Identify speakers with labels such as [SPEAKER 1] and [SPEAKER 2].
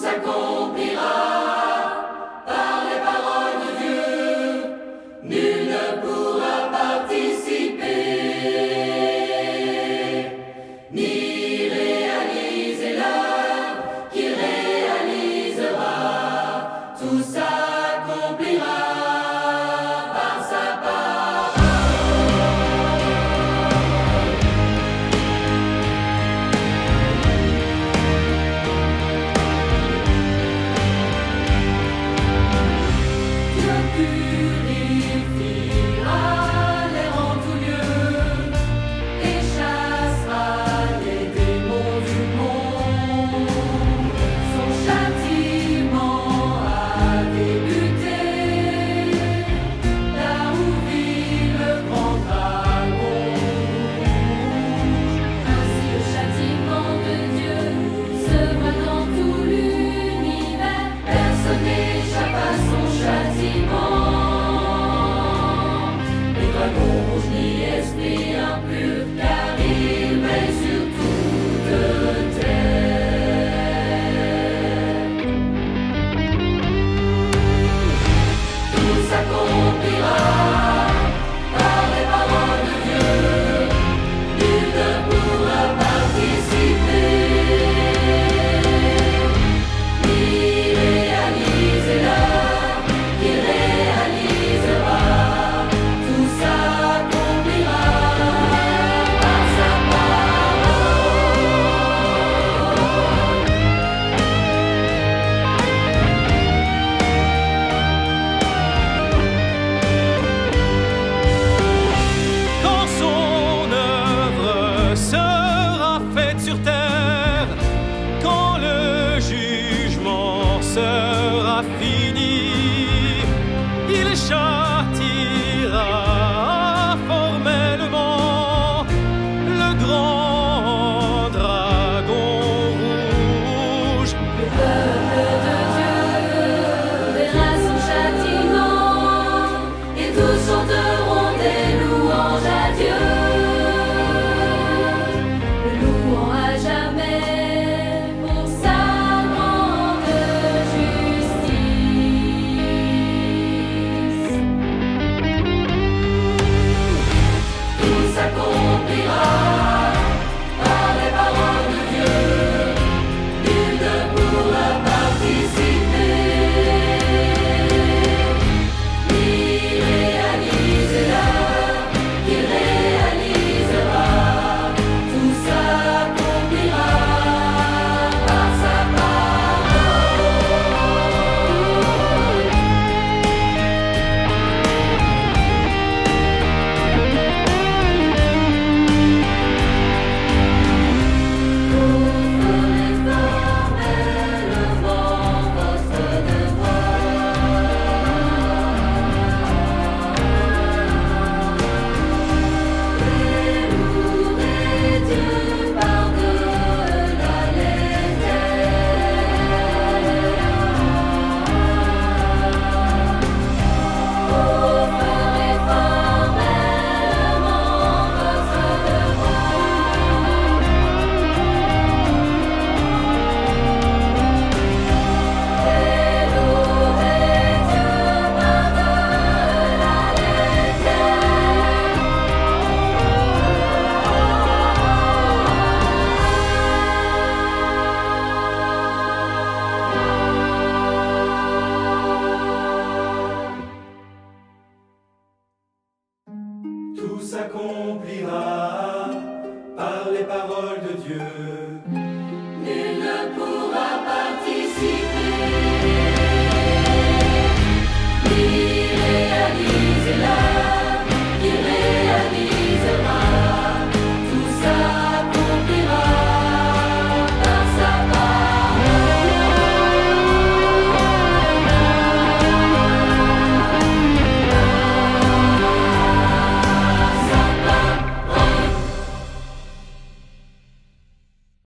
[SPEAKER 1] s'accomplira par les paroles de Dieu. Nul ne pourra participer, ni réaliser l'œuvre qu'il réalisera. Tout s'accomplira par sa parole. Dieu purifiera l'air en tout lieu et chassera les démons du monde. Son châtiment a débuté, là où vit le grand dragon rouge. Ainsi le châtiment de Dieu se voit dans tout l'univers. Personne n'échappe à son châtiment. Ni dragon rouge, ni esprit impur, car il veille sur toute terre. Tout s'accomplira par les paroles de Dieu. Nul ne pourra participer, ni réaliser l'œuvre qu'il réalisera. Tout s'accomplira par sa parole.
[SPEAKER 2] Quand son œuvre sera faite sur terre, quand le jugement sera fini, il châtiera formellement le grand dragon rouge.
[SPEAKER 1] Le peuple de Dieu verra son châtiment et tous chanteront des louanges à Dieu. Le louant à jamais pour sa grande justice. Tout s'accomplira par les paroles de Dieu. Nul ne pourra participer, ni réaliser l'œuvre qu'il réalisera. Tout s'accomplira par sa
[SPEAKER 3] Tout s'accomplira par les paroles de Dieu.
[SPEAKER 1] Nul ne pourra